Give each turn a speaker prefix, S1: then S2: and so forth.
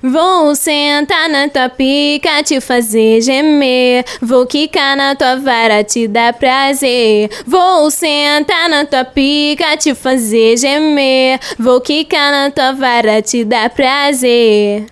S1: Vou sentar na tua pica, te fazer gemer. Vou quicar na tua vara, te dar prazer. Vou sentar na tua pica, te fazer gemer. Vou quicar na tua vara, te dar prazer.